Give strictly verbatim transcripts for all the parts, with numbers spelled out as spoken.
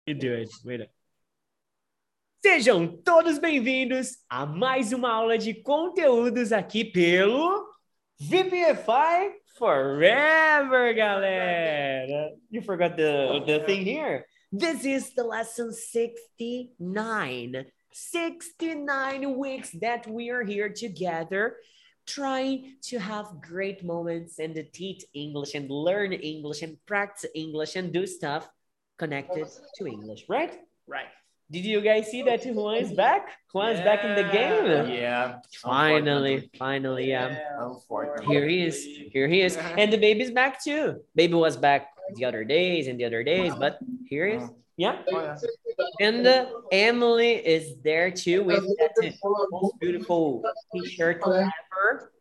You do it. Wait. Sejam todos bem-vindos a mais uma aula de conteúdos aqui pelo V P F I Forever, galera. You forgot the, the thing here. This is the lesson sixty-nine. sixty-nine weeks that we are here together trying to have great moments and to teach English and learn English and practice English and do stuff connected to English, right? Right. Did you guys see that Juan is back? Juan's yeah. back in the game? Yeah. Finally, finally, yeah. yeah. Here he is. Here he is. And the baby's back too. Baby was back the other days and the other days, but here he is. Yeah. Oh, yeah. And uh, Emily is there too with that most beautiful t-shirt ever.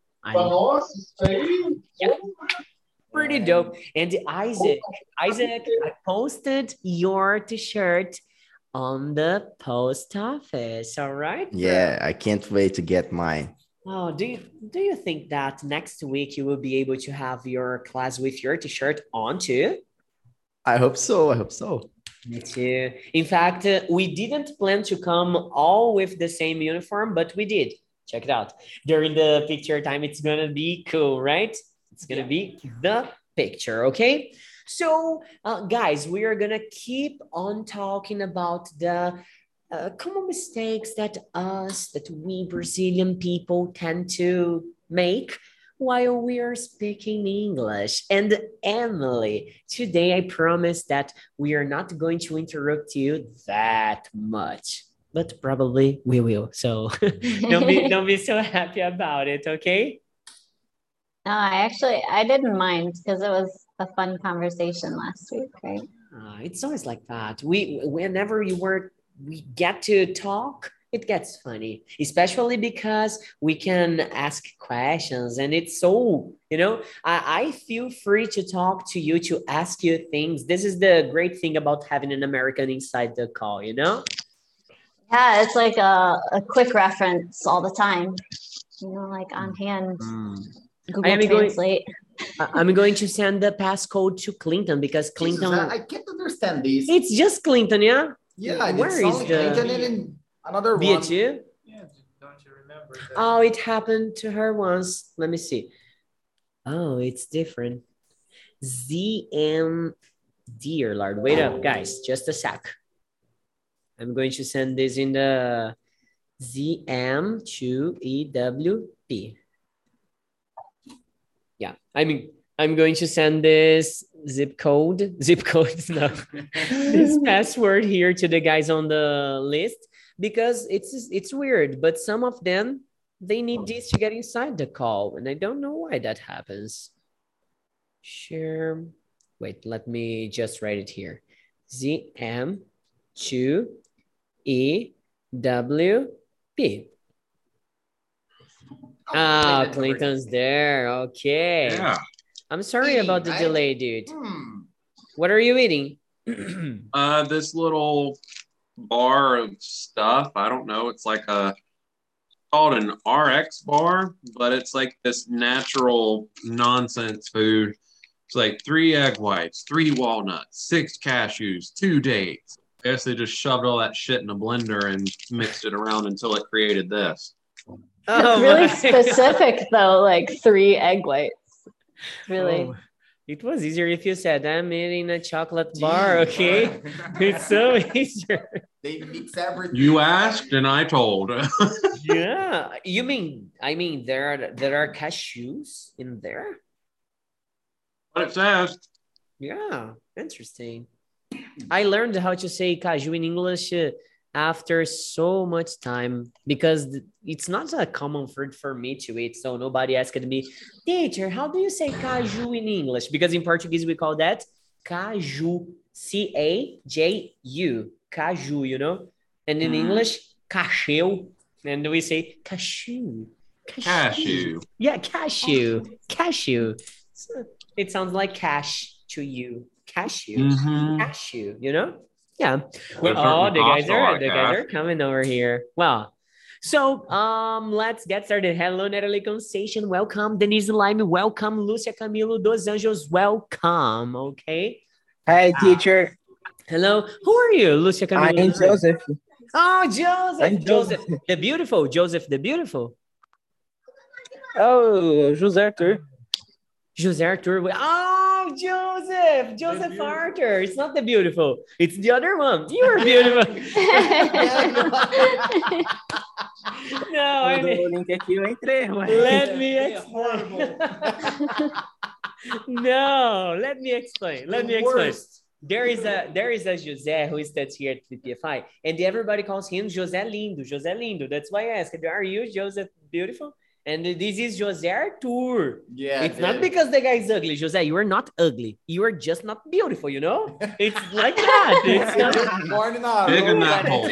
Yeah. Pretty dope. And Isaac, Isaac, I posted your t-shirt on the post office. All right. Yeah, I can't wait to get mine. Oh, do you do you think that next week you will be able to have your class with your t-shirt on too? I hope so. I hope so. Me too. In fact, uh, we didn't plan to come all with the same uniform, but we did. Check it out. During the picture time, it's gonna be cool, right? It's gonna yeah. be the picture, okay? So, uh, guys, we are gonna keep on talking about the uh, common mistakes that us, that we Brazilian people tend to make while we are speaking English. And Emily, today I promise that we are not going to interrupt you that much, but probably we will. So don't be don't be so happy about it, okay? No, I actually I didn't mind because it was a fun conversation last week, right? Uh, it's always like that. We whenever you were we get to talk, it gets funny, especially because we can ask questions and it's so, you know, I, I feel free to talk to you, to ask you things. This is the great thing about having an American inside the call, you know? Yeah, it's like a, a quick reference all the time, you know, like on hand. Mm. Google I Translate. Going, I'm going to send the passcode to Clinton because Clinton... Jesus, I can't understand this. It's just Clinton, yeah? Yeah, where it's is only the... Clinton and another Be one. It you? Yeah, don't you remember that? Oh, it happened to her once. Let me see. Oh, it's different. Z M, dear Lord. Wait up, guys. Just a sec. I'm going to send this in the Z M to E W P. Yeah, I mean, I'm going to send this zip code, zip code, no, this password here to the guys on the list because it's it's weird, but some of them, they need this to get inside the call, and I don't know why that happens. Share, wait, let me just write it here. Z M two E W P. Ah, oh, Clinton's there. Okay. Yeah. I'm sorry hey, about the I, delay, dude. Hmm. What are you eating? uh, this little bar of stuff. I don't know. It's like a called an R X bar, but it's like this natural nonsense food. It's like three egg whites, three walnuts, six cashews, two dates. I guess they just shoved all that shit in a blender and mixed it around until it created this. Oh, really specific though, like three egg whites. Really? Oh, it was easier if you said I'm eating a chocolate bar, okay? It's so easier. They mix everything. You asked and I told. Yeah. You mean, I mean, there are there are cashews in there? What it says. Yeah, interesting. I learned how to say caju in English uh, after so much time because it's not a common fruit for me to eat. So nobody asked me, teacher, how do you say caju in English? Because in Portuguese we call that caju, C A J U, caju, you know? And in mm. English, cacheu. And we say cashew. Cashew. cashew. Yeah, cashew. Cashew. So it sounds like cash to you. Cashew. Mm-hmm. Cashew, you know? Yeah. Well, oh, the guys are the guys are coming over here. Well, so um, let's get started. Hello, Natalie Conceição. Welcome. Denise Lime. Welcome. Lúcia Camilo dos Anjos. Welcome. Okay. Hi, teacher. Hello. Who are you, Lucia Camilo? I'm Joseph. Oh, Joseph. I'm Joseph. Joseph. The beautiful. Joseph the beautiful. Oh, José Arthur. Jose Arthur. Oh, Joseph. Joseph Arthur. It's not the beautiful. It's the other one. You are beautiful. No, I Mandou o mean, link aqui, eu entrei. Ué. let me explain. No, let me explain. Let me explain. There is a there is a José who studies here at the P F I, and everybody calls him José Lindo. José Lindo. That's why I asked, are you Joseph Beautiful? And this is José Arthur. Yeah. It's not because the guy is ugly, José. You are not ugly. You are just not beautiful, you know? It's like that. It's not... Born in a Big in room. that hole.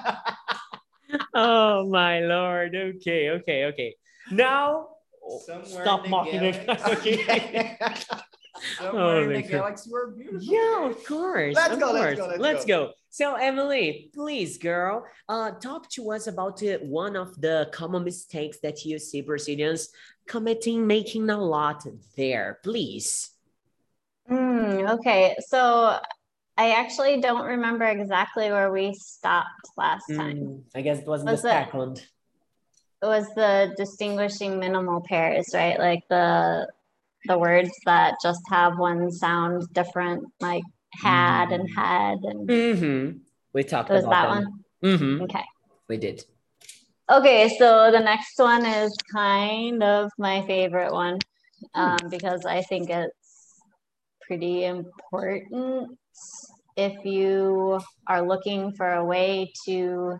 Oh, my Lord. Okay, okay, okay. Now, Somewhere stop in the mocking the galaxy. Okay. Somewhere Oh, in the my God. galaxy, we're beautiful. Yeah, of course. Let's of go, let's course. go, let's Let's go. go. So, Emily, please, girl, uh, talk to us about uh, one of the common mistakes that you see Brazilians committing, making a lot there, please. Hmm, okay, so I actually don't remember exactly where we stopped last time. Mm, I guess it was, Was the it- second. It was the distinguishing minimal pairs, right? Like the the words that just have one sound different, like had and had, and Mm-hmm. We talked it was about that them. one. Mm-hmm. Okay. We did. Okay, so the next one is kind of my favorite one, um, because I think it's pretty important if you are looking for a way to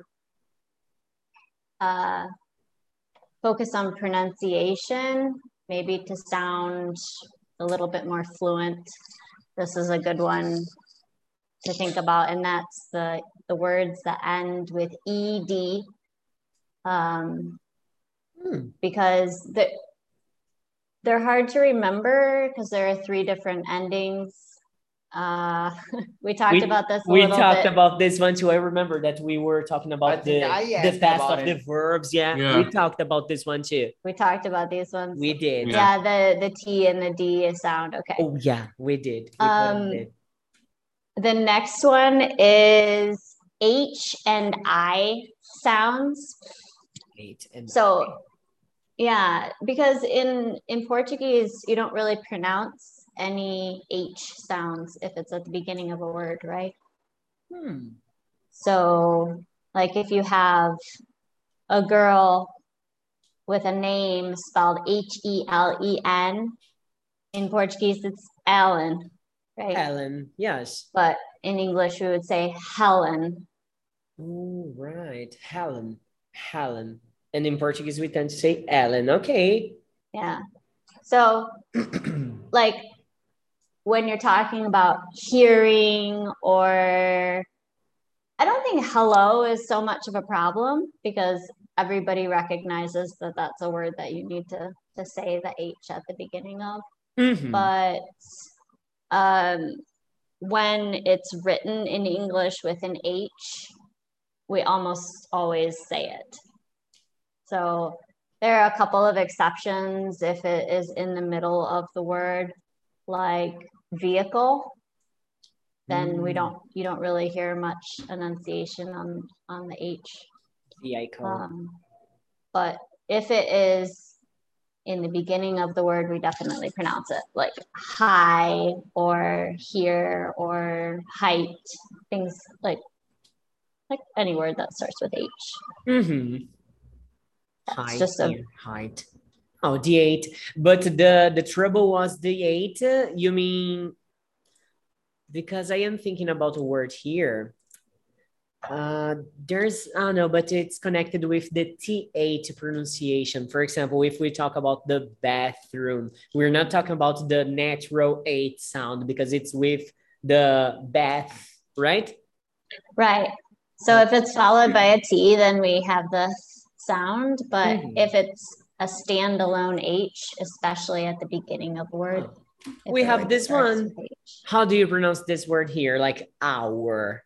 uh, focus on pronunciation, maybe to sound a little bit more fluent. This is a good one to think about, and that's the, the words that end with E D. Um, Hmm. because the, they're hard to remember because there are three different endings. Uh, we talked We- about this a We little talked bit. about this one too. I remember that we were talking I about think the, I the asked past about of the it. verbs. Yeah, Yeah. we talked about this one too. We talked about these ones. We did. Yeah. Yeah, the, the T and the D sound. Okay. Oh, yeah, we did. We Um, did. The next one is H and I sounds. Eight and So, yeah, because in in Portuguese you don't really pronounce any H sounds if it's at the beginning of a word, right? Hmm. So, like if you have a girl with a name spelled H E L E N, in Portuguese it's Ellen, right? Helen, yes. But in English we would say Helen. Oh, right. Helen. Helen. And in Portuguese, we tend to say Ellen. Okay. Yeah. So, like when you're talking about hearing, or I don't think hello is so much of a problem because everybody recognizes that that's a word that you need to to say the H at the beginning of. Mhm. But um, when it's written in English with an H, we almost always say it. So there are a couple of exceptions if it is in the middle of the word, like vehicle, then we Mm. don't, you don't really hear much enunciation on, on the H. The icon. Um, but if it is in the beginning of the word, we definitely pronounce it like high or here or height, things like, like any word that starts with H. Mm-hmm. That's Height, just a, here, height. Oh, the eight. But the the trouble was the eight. uh, You mean because I am thinking about a word here. Uh, there's I don't know, but it's connected with the T eight pronunciation. For example, if we talk about the bathroom, we're not talking about the natural eight sound because it's with the bath, right? right. So if it's followed by a T, then we have the sound, but Mhm. if it's a standalone H, especially at the beginning of a word. if We it, have like, this starts one. with H. How do you pronounce this word here? Like hour.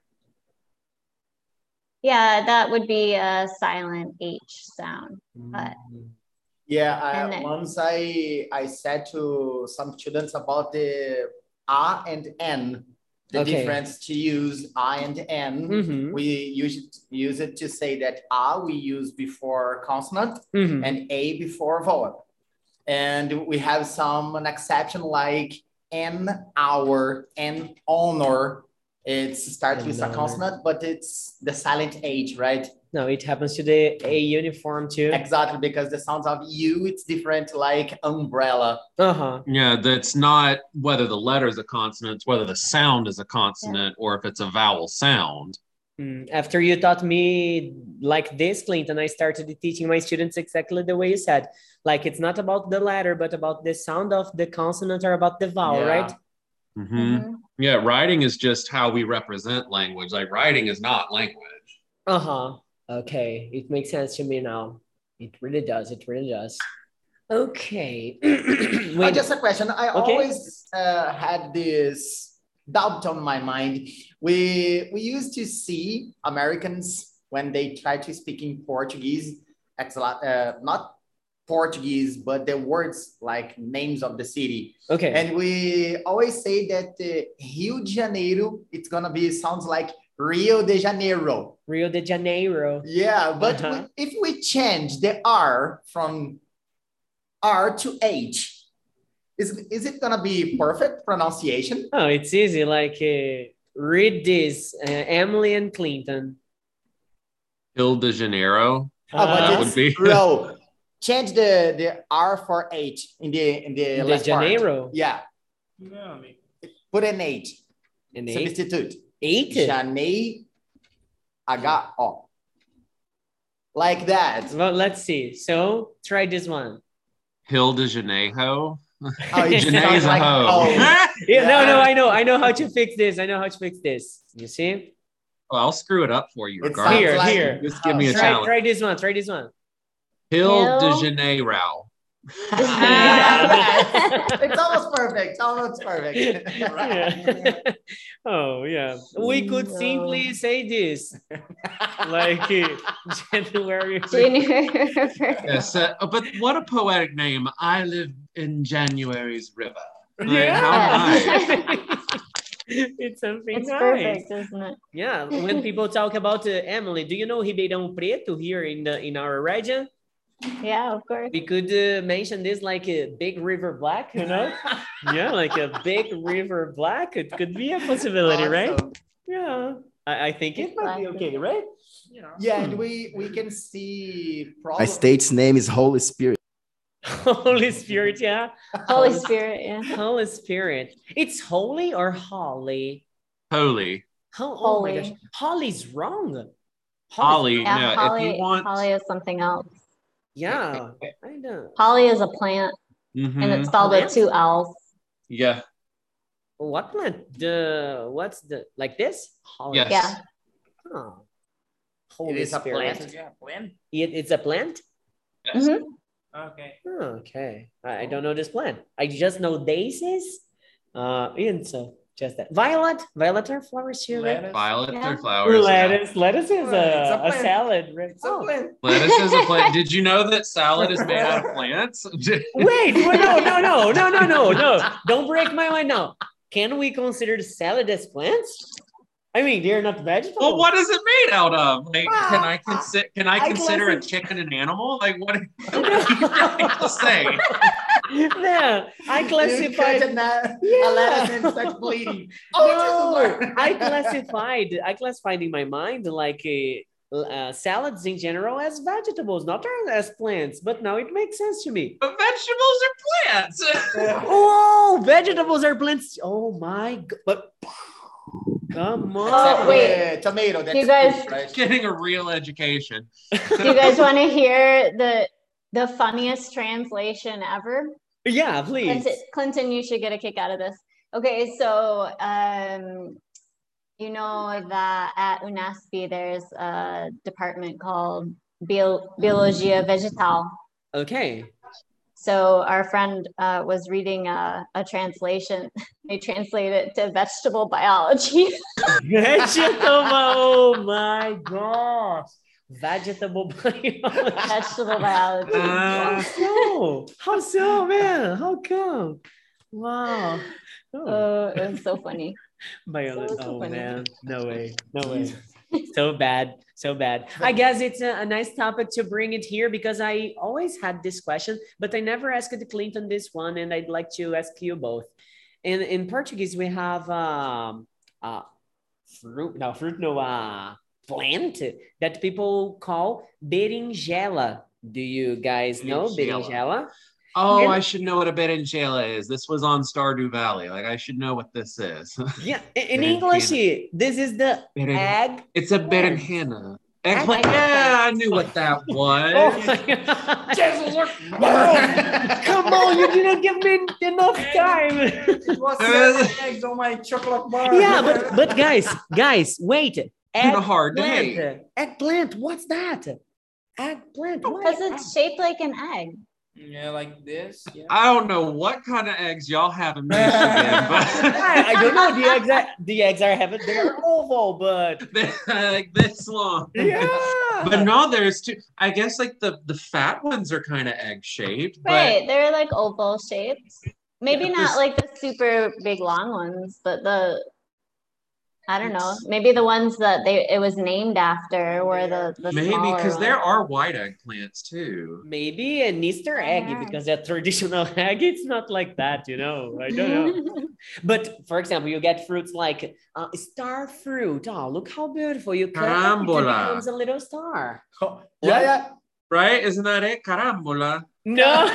Yeah, that would be a silent H sound. But Yeah, I, And then- once I I said to some students about the A and N. the Okay. difference to use I and N. Mhm. We use, use it to say that A we use before consonant Mhm. and A before vowel. And we have some an exception like N hour and honor. It starts with a Honor. consonant, but it's the silent H, right? No, it happens to the A uniform too. Exactly, because the sounds of U, it's different like umbrella. Uh-huh. Yeah, that's not whether the letter is a consonant, it's whether the sound is a consonant or if it's a vowel sound. Mm, After you taught me like this, Clinton, I started teaching my students exactly the way you said. Like it's not about the letter, but about the sound of the consonant or about the vowel, Yeah. right? Mm-hmm. Mhm. Yeah, writing is just how we represent language. Like writing is not language. Uh-huh. Okay, it makes sense to me now. It really does. It really does. Okay. Uh, Wait. just a question. I Okay. always uh, had this doubt on my mind. We we used to see Americans when they try to speak in Portuguese, ex- uh, not Portuguese, but the words like names of the city. Okay. And we always say that uh, Rio de Janeiro, it's gonna be sounds like Rio de Janeiro. Rio de Janeiro. Yeah, but Uh-huh. we- if we change the R from R to H, is, is it gonna be perfect pronunciation? Oh, it's easy. Like uh, read this, uh, Emily and Clinton. Rio de Janeiro. Oh, but Uh, That it's would be- bro. Change the, the R for H in the in the De last part. Janeiro. Yeah, no, put an H. An eight. Substitute. Eight? Janeiro. H O. Like that. Well, let's see. So try this one. Rio de Janeiro. Oh, it Janae's sounds a like hoe. oh. Yeah, no, no, Yeah. I know. I know how to fix this. I know how to fix this. You see? Well, I'll screw it up for you. It regardless. Here, sounds like, here. Just give me a Oh, Try, challenge. try this one. Try this one. Rio de Hill. Janeiro. Yeah, it's almost perfect. It's almost perfect. Yeah. Oh, yeah. We could No. simply say this. Like uh, January. January. Yes, uh, but what a poetic name. I live in January's river. Like, Yeah. how nice. It's something It's nice. perfect, isn't it? Yeah, when people talk about uh, Emily, do you know Ribeirão Preto here in the in our region? Yeah, of course. We could uh, mention this like a big river black, you know? Yeah, like a big river black. It could be a possibility, right? Awesome. Yeah, I, I think it might be okay, right? Yeah, and we we can see My probably state's name is Holy Spirit. Holy Spirit, yeah. Holy Spirit, yeah. Holy Spirit. It's holy or holly? Holy. Ho- oh my Holy. gosh, holly's wrong. Holly. Yeah, No, if holly, you want. holly is something else. Yeah, I know. Holly is a plant, Mhm. and it's spelled with Plant? two L's. Yeah. What plant? The what's the like this? Holly. Yes. Yeah. Oh. it Holy is a Spirit. plant. Yeah, plant. It, it's a plant? Yes. Mhm. Okay. Oh, okay. I, I don't know this plant. I just know daisies. Uh, and so just that. Violet. Violet are flowers too, right? Lettuce. Violet Yeah. or flowers. yeah. Lettuce. Lettuce is Well, it's a, a a plant. salad, right? It's a Oh. plant. Lettuce is a plant. Did you know that salad is made out of plants? Wait, wait, no, no, no, no, no, no, no. Don't break my mind now. Can we consider salad as plants? I mean, they're not vegetables. Well, what is it made out of? Like, can I Ah, consider? Can I I consider a wasn't- chicken an animal? Like, what? What are you trying to say? Yeah, I You classified. cut a, na- Yeah. a lettuce and start bleeding. Oh, No, Jesus Lord. I classified. I classified in my mind like uh, uh, salads in general as vegetables, not as plants. But now it makes sense to me. But vegetables are plants. Oh, vegetables are plants. Oh my god! But come on. Except Oh, wait. the tomato. That's You guys- fruit, right? Getting a real education. Do you guys want to hear the the funniest translation ever? Yeah, please. Clinton, Clinton, you should get a kick out of this. Okay, so um, you know that at UNASP there's a department called Bio, Biologia Vegetal. Okay. So our friend uh, was reading a, a translation. They translate it to vegetable biology. Vegetable. Oh my gosh. Vegetable biology. Vegetable biology. How Uh, so? How so, man? How come? Wow. Oh. Oh, it was so funny. Violet. So Oh funny. man, no way, no way. So bad, so bad. I guess it's a, a nice topic to bring it here because I always had this question, but I never asked Clinton this one, and I'd like to ask you both. In in Portuguese, we have um uh fruit, no fruit, no uh plant that people call berinjela. Do you guys know Berinjela. berinjela? Oh, And- I should know what a berinjela is. This was on Stardew Valley. Like I should know what this is. Yeah, in in Berinjela. English, this is the Berin- egg. It's a Plant. berenjena. Eggplant. Eggplant. Yeah, I knew what that was. Oh my God. Come on, you didn't give me enough time. What's that eggs on my chocolate bar? Yeah, but but guys, guys, wait. Kinda hard to Eggplant. hate. Eggplant, what's that? Eggplant. What? Because it's shaped like an egg. Yeah, like this. Yeah. I don't know what kind of eggs y'all have in Michigan, but I, I don't know. The eggs are, the eggs are heavy. They're oval, but they're like this long. yeah. But no, there's two. I guess like the the fat ones are kind of egg shaped, but Right, they're like oval shaped. Maybe Yeah, not this- like the super big long ones, but the I don't know. Maybe the ones that they it was named after were the the maybe smaller because there ones. are white eggplants too. Maybe an Easter egg Yeah. because a traditional egg, it's not like that, you know. I don't know. But for example, you get fruits like uh, star fruit. Oh, look how beautiful! You cut it, it Carambola. becomes a little star. Yeah, yeah. Right? Isn't that it? Carambola. No.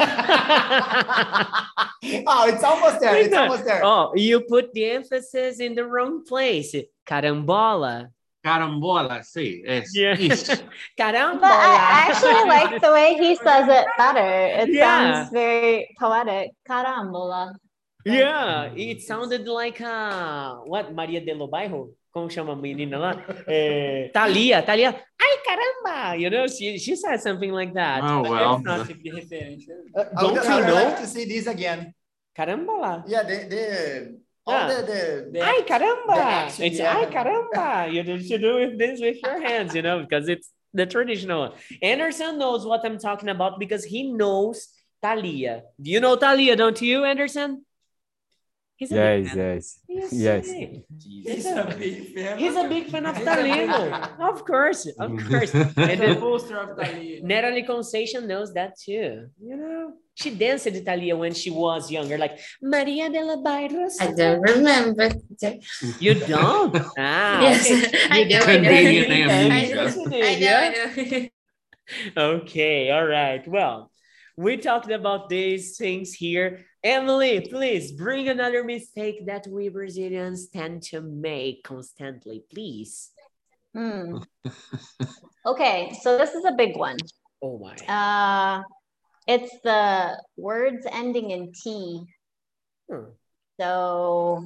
Oh, it's almost there. It's almost there. Oh, you put the emphasis in the wrong place. Carambola. Carambola, sí. Es, Yeah. is. Carambola. But I, I actually like the way he says it better. It Yeah. sounds very poetic. Carambola. Yeah, it sounded like uh, what Maria de lo Bairro, como chama a menina lá? Eh, Thalia, Thalia. Ai, caramba! You know, she, she said something like that. Oh, But well. it's not- Tipo de referência. Uh, I Don't would, you I would know? like to see this again. Carambola. Yeah, the the all Yeah. the the. The- Ai, caramba! the action, It's yeah. ai, caramba! You do- should do with this with your hands, you know, because it's the traditional one. Anderson knows what I'm talking about because he knows Thalia. Do you know Thalia, don't you, Anderson? He's a big Yes, fan. yes. Yes. Yes. He's a big fan. He's a big fan of He's a big Thalia. fan. Of course, of course. He's And a then poster of Thalia. Natalie Conceição knows that too. You know, she danced to Thalia when she was younger, like Maria de la Bairros. I don't remember. You don't? Ah, Yes, okay. I You know, don't. I know. Convenient I amnesia. know, Yes, you I did, know, yeah? I know. Okay, all right. Well, we talked about these things here. Emily, please bring another mistake that we Brazilians tend to make constantly, please. Hmm. Okay, so this is a big one. Oh my. Uh, it's the words ending in T. Hmm. So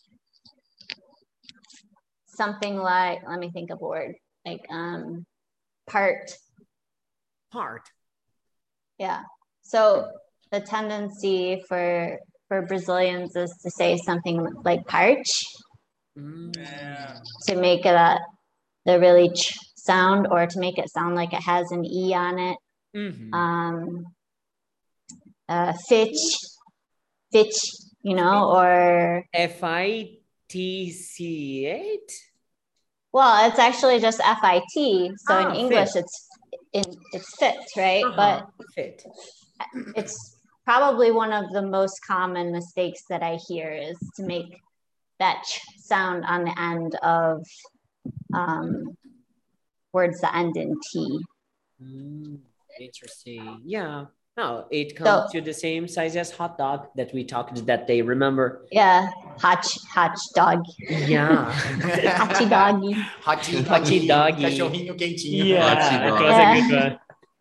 something like, let me think of a word, like um, part. Part. Yeah. So the tendency for for Brazilians is to say something like parch Mm. Yeah. to make it a the really ch sound, or to make it sound like it has an e on it. Mhm. Um, uh, fitch, fitch, you know, or F I T C eight? well, it's actually just F I T. So Ah, in English, fit. it's in it's fit, right? Uh-huh. Fit. But it's probably one of the most common mistakes that I hear is to make that ch sound on the end of um, words that end in T. Mm, interesting. Yeah. No, it comes to the same size as hot dog that we talked that day. Remember? Yeah, hot hot dog, Yeah. hachi doggy. Hachi, Hachi doggy. Cachorrinho quentinho. Yeah, Hachi that dog. was a good one.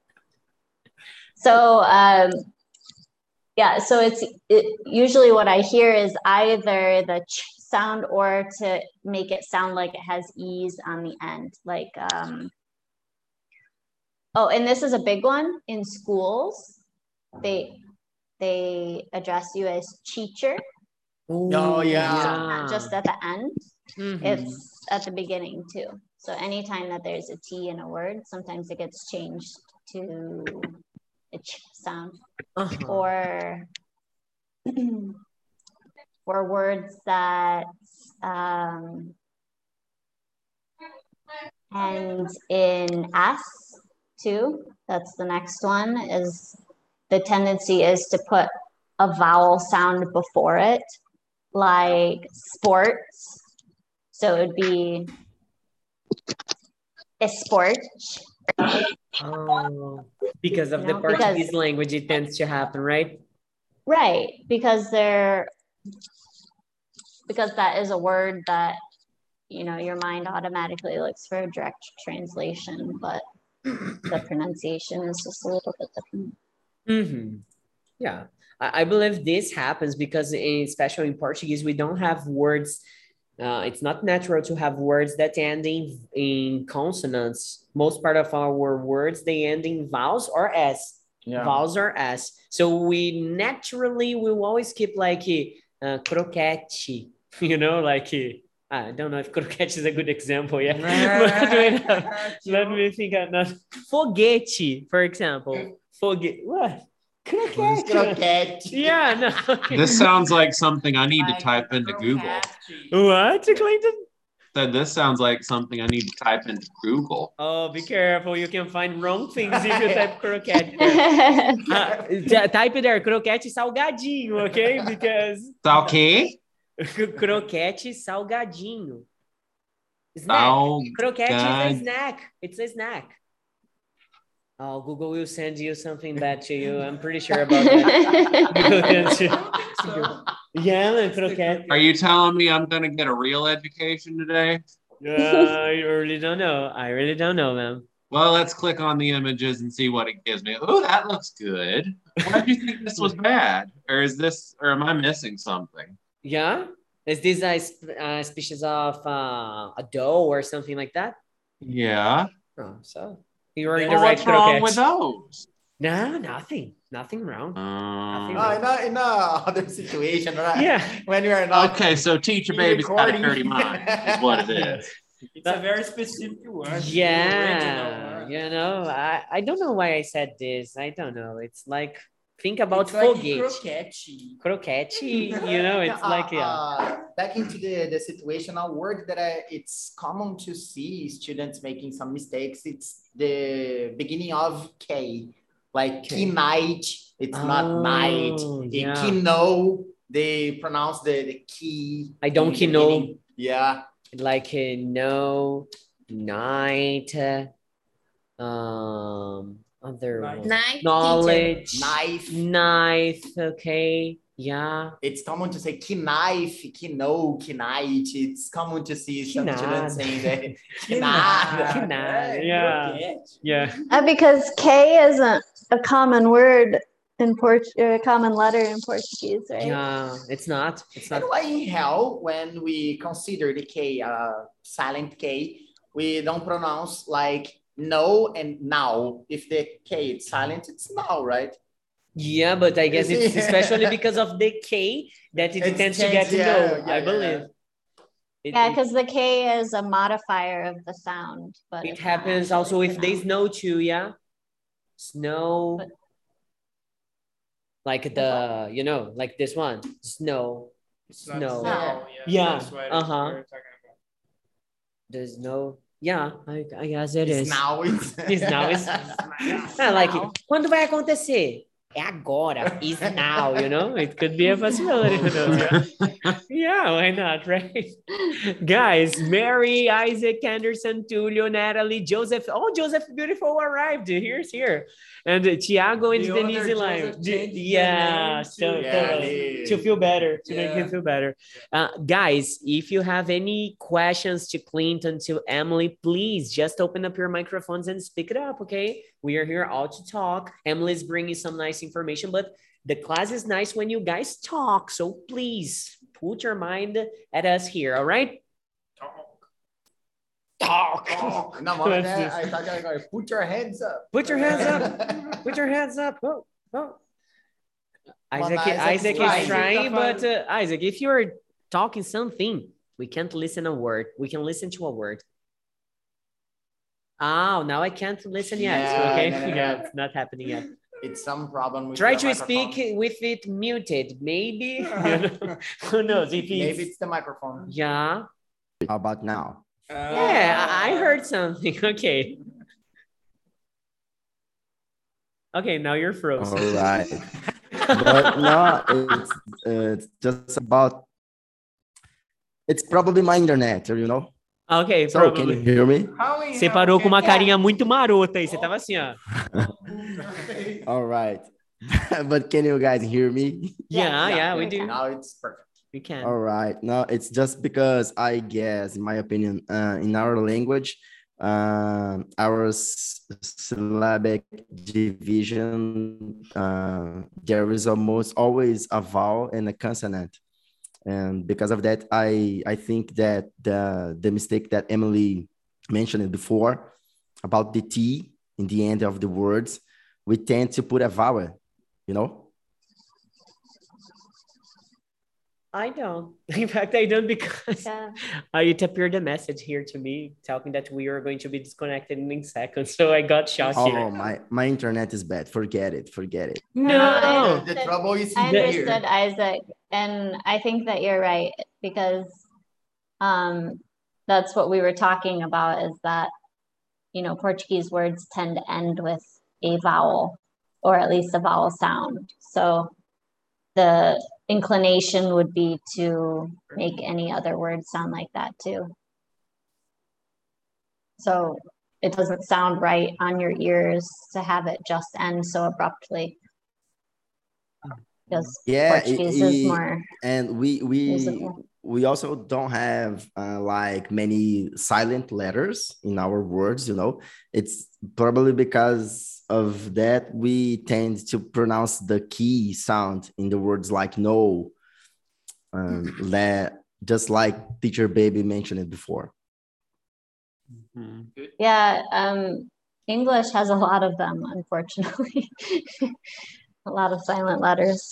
So um, yeah, so it's it, usually what I hear is either the ch sound or to make it sound like it has e's on the end, like um, oh, and this is a big one in schools. They they address you as teacher, Oh, yeah. not just at the end. Mhm. It's at the beginning too. So anytime that there's a T in a word, sometimes it gets changed to a ch sound. Uh-huh. Or for words that um, end in S too. That's the next one. Is the tendency is to put a vowel sound before it, like sports. So it would be esporte. Oh, because of You the know, because- Portuguese language, it tends to happen, right? Right, because they're because that is a word that you know your mind automatically looks for a direct translation, but the pronunciation is just a little bit different. Mm-hmm. Yeah, I, I believe this happens because, in, especially in Portuguese, we don't have words. Uh, it's not natural to have words that end in, in consonants. Most part of our words, they end in vowels or S. Yeah. Vowels or S. So we naturally will always keep like uh, croquete, you know, like I don't know if croquete is a good example, yeah. But wait, uh, let me think another. Foguete, for example. Foguete. What? Croquete. Croquete. Yeah, no. This sounds like something I need to Like type into Google. croquete. What, Clayton? Said this sounds like something I need to type into Google. Oh, be careful. You can find wrong things if you type croquete there. Uh, t- type there, croquete salgadinho, okay? Because Tá ok? croquete salgadinho. Snack. Sal- Croquete is a gad- snack. It's a snack. Oh, Google will send you something bad to you. I'm pretty sure about that. Google sends you- I don't think so. Yeah, man, croquete. Are you telling me I'm gonna get a real education today? Uh, I really don't know. I really don't know, man. Well, let's click on the images and see what it gives me. Oh, that looks good. Why do you think this was bad? Or is this, or am I missing something? Yeah? Is this a, sp- a species of uh, a dough or something like that? Yeah. Oh, so you're in the Well, right what's wrong croquette. with those? No, nothing. Nothing wrong. Um, No, in a, in a other situation, right? Yeah. When you are not okay, so teach a baby's got a recording. dirty mind is what it is. It's a very specific word. Yeah, Original word. you know, I, I don't know why I said this. I don't know. It's like, think about It's like foguete. croquete. Croquete, you know, it's Uh, like, yeah. uh, back into the, the situational word that I, it's common to see students making some mistakes. It's the beginning of K, like K. knight. It's Oh, not night. yeah. Kino, they pronounce the, the key. I don't in the know. beginning. Yeah. Like, uh, no, night, uh, um, other Night. one. Night, Knowledge, Knife. knife, okay, yeah. It's common to say knife, kino, knight. It's common to see some Kinada. students saying that. Kinada. Kinada. Kinada, yeah. Croquete. Yeah. Uh, because K isn't a common word in Port or a common letter in Portuguese, right? Yeah, it's not. It's not. And why in hell, when we consider the K, uh, silent K, we don't pronounce like no and now. If the K is silent, it's now, right? Yeah, but I guess it's Yeah. especially because of the K that it It's tends to get changed, to yeah, know, yeah, I yeah. believe. It, Yeah, it- because the K is a modifier of the sound, but it it's not happens actually also if they pronounced. snow too, yeah? Snow. But- Like the, you know, like this one, snow. It's not Snow. snow. Yeah, That's what uh-huh. we're talking about. There's no, yeah, I, I guess it It's is. now. It's, It's now, it's- Ah, like, quando vai acontecer? É agora. Is now, you know? It could be a possibility. Who knows, yeah? Yeah, why not, right? Guys, Mary, Isaac, Anderson, Tulio, Natalie, Joseph. Oh, Joseph Beautiful arrived. Here's here. And uh, Tiago and The owner, Denise Joseph, Lime. changed the Yeah, name so, to- Yeah, totally. he- To feel better, to make Yeah. him feel better. Uh, guys, if you have any questions to Clinton, to Emily, please just open up your microphones and speak it up, okay? We are here all to talk. Emily's bringing some nice information, but the class is nice when you guys talk. So please put your mind at us here, all right? Talk. Talk. No, mom, Let's I just- thought you were going, put your hands up. Put your hands up. Put your hands up. Oh, oh. Isaac, Isaac's Isaac trying. is trying, Isaac but uh, Isaac, if you're talking something, we can't listen a word. We can listen to a word. Oh, now I can't listen yet. Yeah, okay, no, no, no. yeah, it's not happening yet. it's some problem with Try your to microphone. speak with it muted. Maybe. You know? Who knows? If Maybe it's, it's the microphone. yeah. How about now? Yeah, I I heard something. Okay. Okay, now you're frozen. All right. But no, it's, uh, it's just about, it's probably my internet, you know? Okay, So can you probably. hear me? Você parou com uma carinha muito marota aí. Você tava assim, ó. All right. But can you guys hear me? Yeah, yeah, we we do. can. Now it's perfect. We can. All right. No, it's just because I guess, in my opinion, uh, in our language, uh, our s- syllabic division, uh, there is almost always a vowel and a consonant. And because of that, I, I think that the, the mistake that Emily mentioned before about the T in the end of the words, we tend to put a vowel, you know? I don't. In fact, I don't because Yeah. uh, it appeared a message here to me talking that we are going to be disconnected in seconds. So I got shocked Oh, here. my, my internet is bad. Forget it. Forget it. No. I The, the trouble is I here. understood, Isaac, and I think that you're right because um, that's what we were talking about is that, you know, Portuguese words tend to end with a vowel or at least a vowel sound. So the inclination would be to make any other word sound like that too. So it doesn't sound right on your ears to have it just end so abruptly. Because Yeah, it- Portuguese is it- more and we we musical. we also don't have uh, like many silent letters in our words, you know. It's probably because of that we tend to pronounce the key sound in the words like no, um, let, just like teacher baby mentioned it before. Mhm. Yeah, um, English has a lot of them, unfortunately. A lot of silent letters.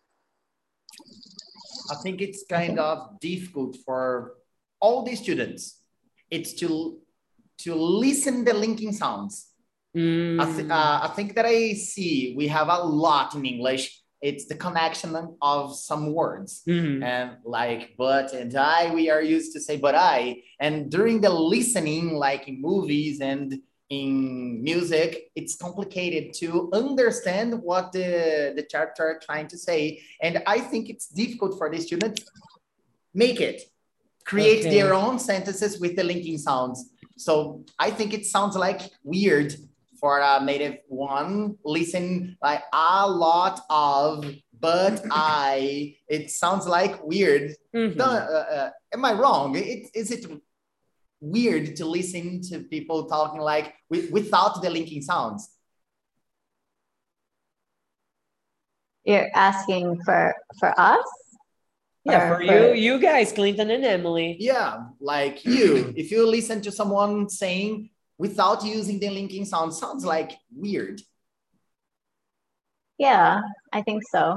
I think it's kind of difficult for all the students. It's to to listen the linking sounds. Mm. I, th- uh, I think that I see we have a lot in English. It's the connection of some words. Mhm. And like but and I, we are used to say but I. And during the listening, like in movies and in music, it's complicated to understand what the, the character are trying to say. And I think it's difficult for the student make it, create Okay. their own sentences with the linking sounds. So I think it sounds like weird for a native one. Listen like a lot of, but I, it sounds like weird. Mhm. No, uh, uh, am I wrong? It, is it weird to listen to people talking like with, without the linking sounds? You're asking for for us? Yeah, Or for you, you guys, Clinton and Emily. Yeah, like you, if you listen to someone saying without using the linking sound, sounds like weird. Yeah, I think so.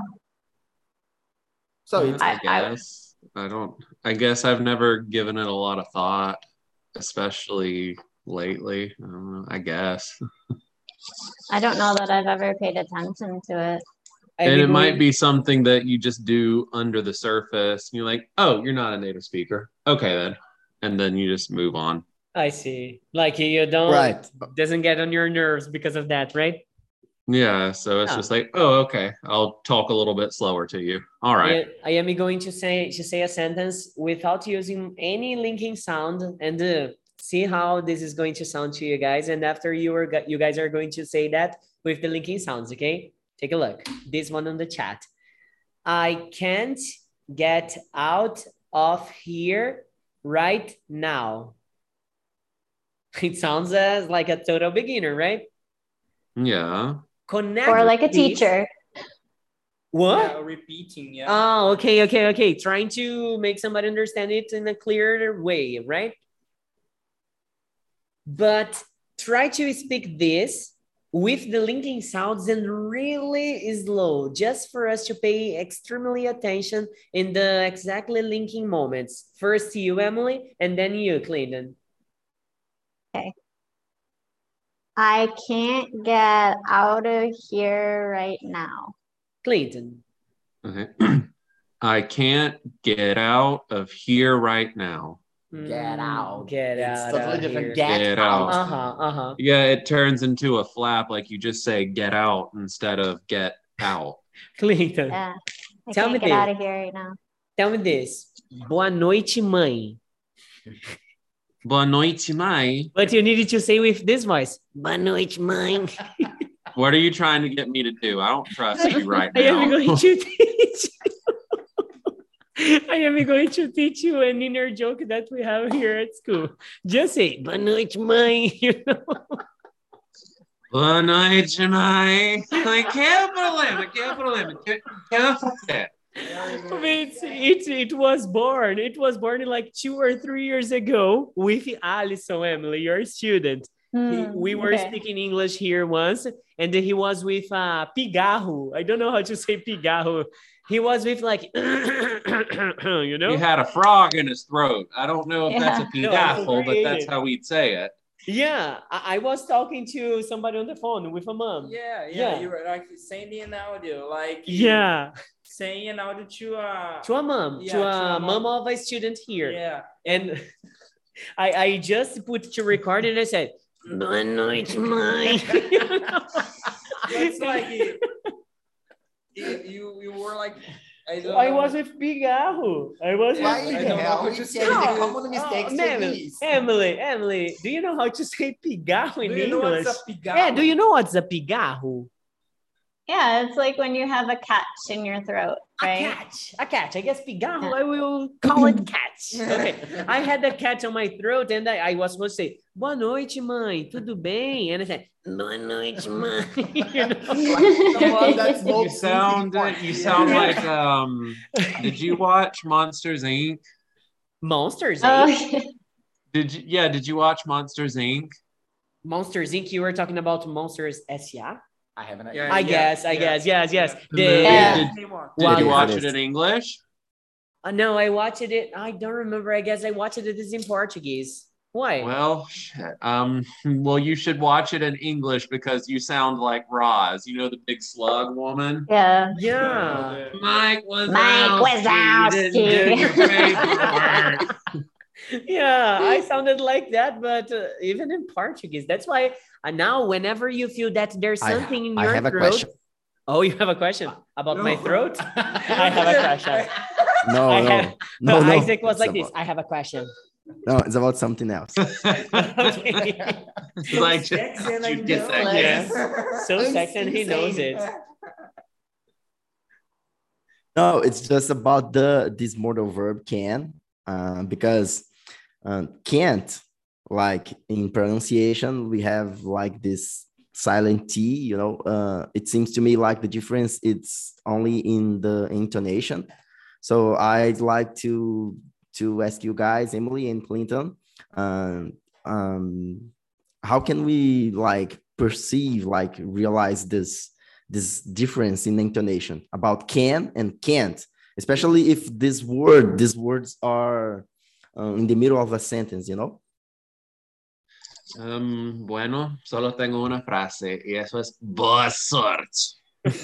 So Yeah, it's, I I- I- guess I, don't. I guess I've never given it a lot of thought, especially lately. I don't know. I guess, I don't know that I've ever paid attention to it. I've and been it might going- be something that you just do under the surface. And you're like, oh, you're not a native speaker. Okay, then, and then you just move on. I see. Like you don't Right. doesn't get on your nerves because of that, right? Yeah, so it's Yeah. just like, oh, okay, I'll talk a little bit slower to you. All right. I, I am going to say to say a sentence without using any linking sound and uh, see how this is going to sound to you guys. And after you are you guys are going to say that with the linking sounds, okay? Take a look. This one on the chat. I can't get out of here right now. It sounds as like a total beginner, right? Yeah. Connect Or like a this- teacher. What? Yeah, repeating, yeah. Oh, okay, okay, okay. Trying to make somebody understand it in a clearer way, right? But try to speak this with the linking sounds and really slow, just for us to pay extremely attention in the exactly linking moments. First you, Emily, and then you, Clinton. I can't get out of here right now. Clayton. Okay. I can't get out of here right now. Get out. Get It's out totally of different. here. Get, Get out. out. Uh-huh, uh-huh. Yeah, it turns into a flap, like you just say get out instead of get out. Clayton, Yeah. I Tell me can't get out this. of here right now. tell me this. Boa noite, mãe. Boa noite, mãe. But you needed to say with this voice. Boa noite, mãe. What are you trying to get me to do? I don't trust you right I am now. going to teach you. I am going to teach you an inner joke that we have here at school. Just say, boa noite, mãe. You know? Boa noite, mãe. Like, que é o problema? Que é o problema? Que que eu fazer? It's, it, it was born. It was born like two or three years ago with Alison, Emily, your student. He, Hmm, we were okay. speaking English here once, and then he was with uh, pigarro. I don't know how to say pigarro. He was with like, you know? He had a frog in his throat. I don't know if that's a Yeah. pigaffle, No, but that's how we'd say it. Yeah, I, I was talking to somebody on the phone with a mom. Yeah, yeah, Yeah. you were like sending an audio, like Yeah, saying an audio to a to a mom, Yeah, to to a a mom mom. of a student here. Yeah. And I, I just put to record and I said, boa noite, mãe. It's like you, you, you were like I, don't I know. was with pigarro. I was Why with I the don't know hell how you to say say the it. common mistakes Oh, to Emily, these? Emily, Emily, do you know how to say pigarro in Do you know English? what's a pigarro? Yeah, do you know what's a pigarro? Yeah, it's like when you have a catch in your throat, A right? catch, a catch. I guess pigarro, I will call it catch. Okay, I had the catch on my throat and I, I was supposed to say, boa noite, mãe, tudo bem? And I said, boa noite, mãe. You know? Someone that You smokes sound weed you before. sound like um did you watch Monsters Incorporated? Monsters, Oh, Incorporated? Did you yeah, did you watch Monsters Incorporated? Monsters, Incorporated, you were talking about Monsters S A? I haven't. Yeah, I yeah, guess, I yeah, guess, yes, yes. yeah. The The- movie, Yeah. did, Same one. did Wow. you watch It it is. in English? Uh, no, I watched it. I don't remember. I guess I watched it in Portuguese. Why? Well, shit. Um, well, you should watch it in English because you sound like Roz. You know the big slug woman. yeah. yeah. Mike Wazowski. Mike didn't do your Wazowski. paperwork. Yeah, I sounded like that, but uh, even in Portuguese. That's why uh, now, whenever you feel that there's I- something in I your have a throat. question. Oh, you have a question about my No. throat? I have a question. No, I no, have- no, no. Isaac was It's like this. about- I have a question. No, it's about something else. Okay. Like, Sexy and I you get know that, it. yeah. So I'm sexy and he knows insane. it. No, it's just about the this modal verb can, uh, because um, can't, like in pronunciation, we have like this silent T, you know, uh, it seems to me like the difference it's only in the intonation. So I'd like to to ask you guys, Emily and Clinton, um, um, how can we like perceive, like realize this this difference in intonation about can and can't, especially if this word, these words are uh, in the middle of a sentence, you know? Um, bueno, solo tengo una frase y eso es boa sorte.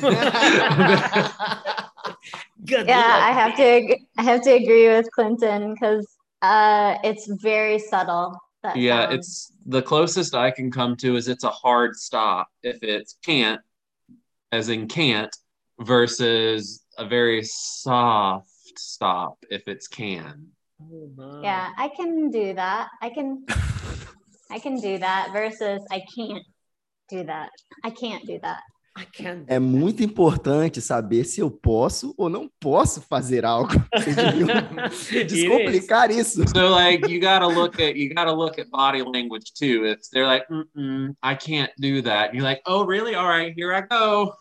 Good Yeah, luck. I have to ag- I have to agree with Clinton because uh, it's very subtle. That Yeah, sound. it's the closest I can come to is it's a hard stop if it's can't, as in can't, versus a very soft stop if it's can. Oh, my. Yeah, I can do that. I can I can do that versus I can't do that. I can't do that. I can't. É muito importante saber se eu posso ou não posso fazer algo. Vocês deviam It is. descomplicar isso. So like you gotta look at you gotta look at body language too. If they're like, Mm-mm, I can't do that, you're like, oh really? All right, here I go.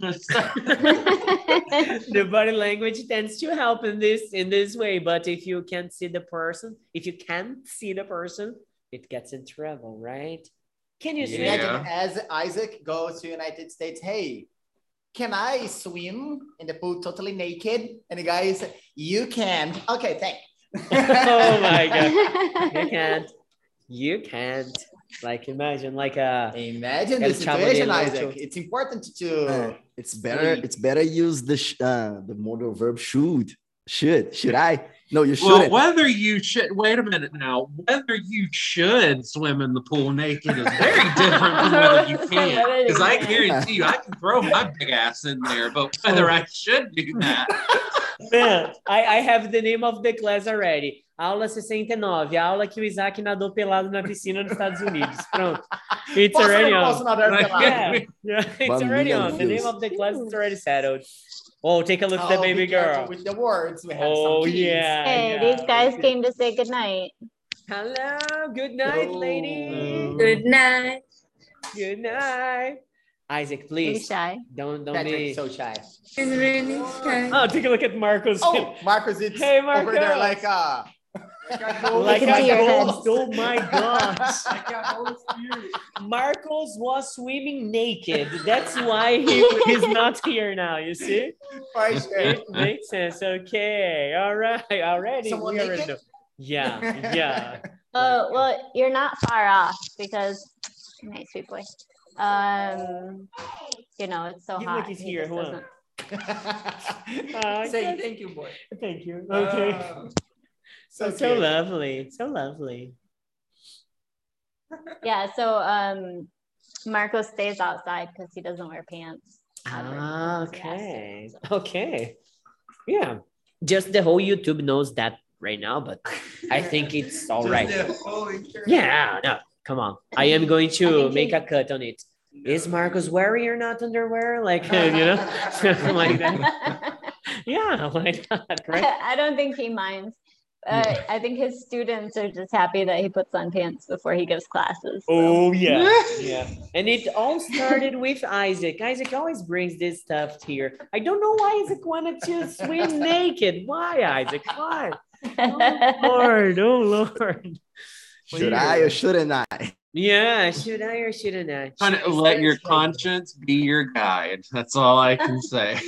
The body language tends to help in this in this way, but if you can't see the person, if you can't see the person, it gets in trouble, right? Can you swim? Yeah. Imagine as Isaac goes to United States, hey, can I swim in the pool totally naked? And the guy said, you can. Okay, thanks. Oh my god, you can't. You can't. Like imagine like a Imagine El the Chavo situation, del Isaac. Ocho. It's important Uh, to. it's better. It's better use the sh- uh, the modal verb should. Should should I? No, you Well, shouldn't. whether you should wait a minute now, whether you should swim in the pool naked is very different from whether you can. Whether you Because I can. guarantee you, I can throw my big ass in there, but whether I should do that, Man, I, I have the name of the class already. Aula sessenta e nove, a aula que o Isaac nadou pelado na piscina nos Estados Unidos. Pronto. It's Posso already ou não on. posso nadar pelado? Yeah, yeah, it's already One on. The name million of the class is already settled. Oh, take a look at Oh, the baby be careful girl. with the words. We have Oh, some keys. yeah. Hey, yeah. these guys came to say goodnight. Hello, good night, Hello. lady. Good night. Good night. Isaac, Be please shy. don't don't Patrick be. is so shy. It's really shy. Oh, take a look at Marcos. Oh, Marcos, it's Hey, over there Marcos. like a. Like I can a see your ghost. Oh my gosh. Marcos was swimming naked. That's why he is not here now. You see? For sure. It makes sense. Okay. All right. Already. Someone we already naked? know. Yeah. Yeah. Uh, well, you're not far off because nice sweet boy. Um, you know it's so Give hot. like he's he here. just Hold on. doesn't- Uh, Say thank you, boy. Thank you. Okay. Uh, so so so cute. lovely. So lovely. Yeah. So um, Marco stays outside because he doesn't wear pants. Ah, Ever. okay. Okay. Yeah. Just the whole YouTube knows that right now, but I think it's all just right. the whole insurance. Yeah, no, come on. I am going I to think make he- a cut on it. Is Marcos wearing or not underwear? Like, you know, like that. Yeah, why not, right? I don't think he minds. Uh, I think his students are just happy that he puts on pants before he gives classes. so. Oh, yeah, yeah. And it all started with Isaac. Isaac always brings this stuff here. I don't know why Isaac wanted to swim naked. Why, Isaac? Why? Oh, Lord, oh, Lord. Should I or shouldn't I? Yeah, should I or shouldn't I? kind of let your conscience be your guide. That's all I can say.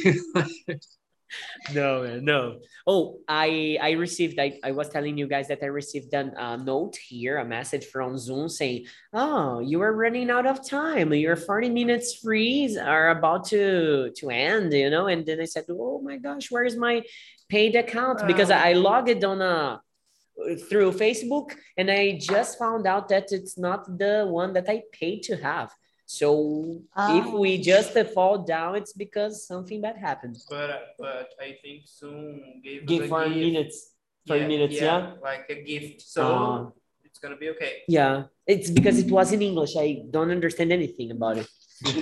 No, man, no. Oh, I I received. I, I was telling you guys that I received a uh, note here, a message from Zoom saying, "Oh, you are running out of time. Your forty minutes freeze are about to to end." You know, and then I said, "Oh my gosh, where is my paid account?" Because I, I logged on a through Facebook, and I just found out that it's not the one that I paid to have. So if we Oh. just uh, fall down, it's because something bad happened. But uh, but I think soon gave us Give a for gift. minutes, for minutes, yeah. like a gift. So Uh, it's gonna be okay. yeah, it's because it was in English. I don't understand anything about it.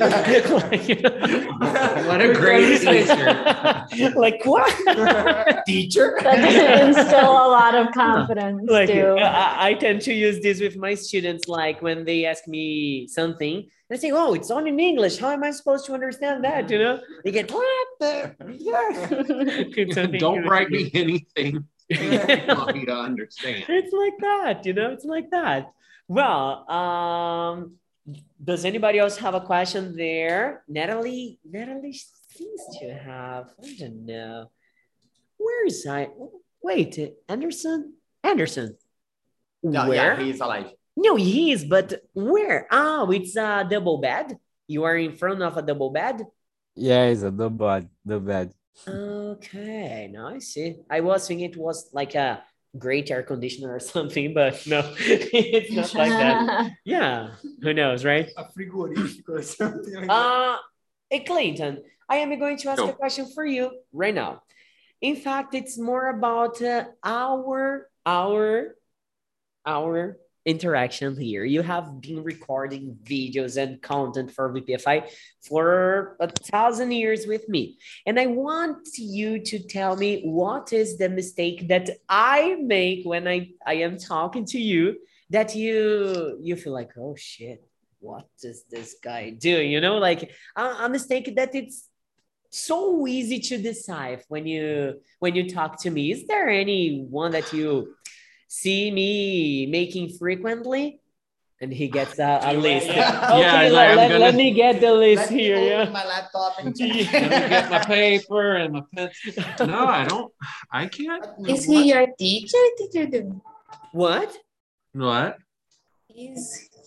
What a great teacher. Like what? Teacher. That doesn't instill a lot of confidence, Like too. I, I tend to use this with my students, like when they ask me something, and I say, "Oh, it's all in English. How am I supposed to understand that?" You know, they get what the It's something Don't good. write me anything you want me to understand. It's like that, you know, it's like that. Well, um, does anybody else have a question there? Natalie, Natalie seems to have, I don't know. Where is I? Wait, Anderson? Anderson. No, Where? yeah, he's alive. No, he is, but where? Oh, it's a double bed. You are in front of a double bed? Yeah, it's a the bad, the bad. Okay, now I see. I was thinking it was like a great air conditioner or something, but no, it's not like that. Yeah, who knows, right? A frigorífico or something like that. Uh, hey, Clayton, I am going to ask Go. a question for you right now. In fact, it's more about uh, our, our, our interaction here. You have been recording videos and content for V P F I for a thousand years with me. And I want you to tell me what is the mistake that I make when I, I am talking to you that you you feel like, oh shit, what does this guy do? You know, like a, a mistake that it's so easy to decide when you when you talk to me. Is there any one that you see me making frequently? And he gets a, a list. Yeah. Okay, Yeah, he's let, like, I'm let, gonna- let me get the list Let me here. open Yeah. my laptop and Let me get my paper and my pencil. No, I don't. I can't. Is he your teacher? Teacher, do What? What? is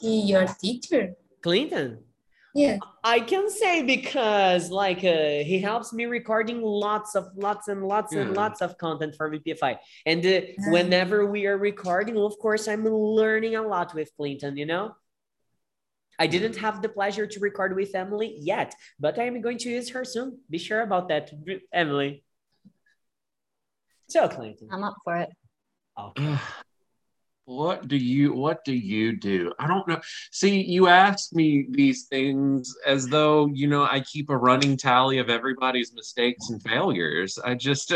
Your teacher? Clinton. Yeah. I can say because like uh, he helps me recording lots of lots and lots and Yeah. lots of content for V P F I. And uh, whenever we are recording, of course, I'm learning a lot with Clinton, you know? I didn't have the pleasure to record with Emily yet, but I'm going to use her soon. Be sure about that, Emily. So, Clinton. I'm up for it. Okay. What do you what do you do? I don't know. See, you ask me these things as though, you know, I keep a running tally of everybody's mistakes and failures. I just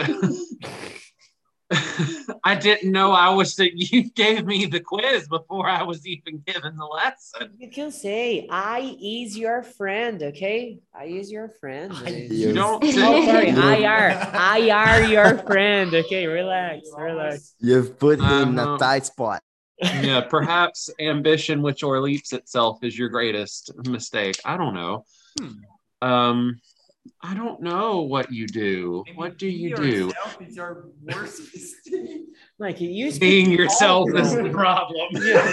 I didn't know I was that you gave me the quiz before I was even given the lesson. You can say, I is your friend, okay? I is your friend. You don't Oh, say sorry, I are. I are your friend. Okay, relax, relax. You've put him in Uh-huh. a tight spot. Yeah, perhaps ambition which o'erleaps itself is your greatest mistake. I don't know. Um, I don't know what you do. What do you do? Yourself is your worst mistake. Like you speak Being yourself all is the wrong. problem.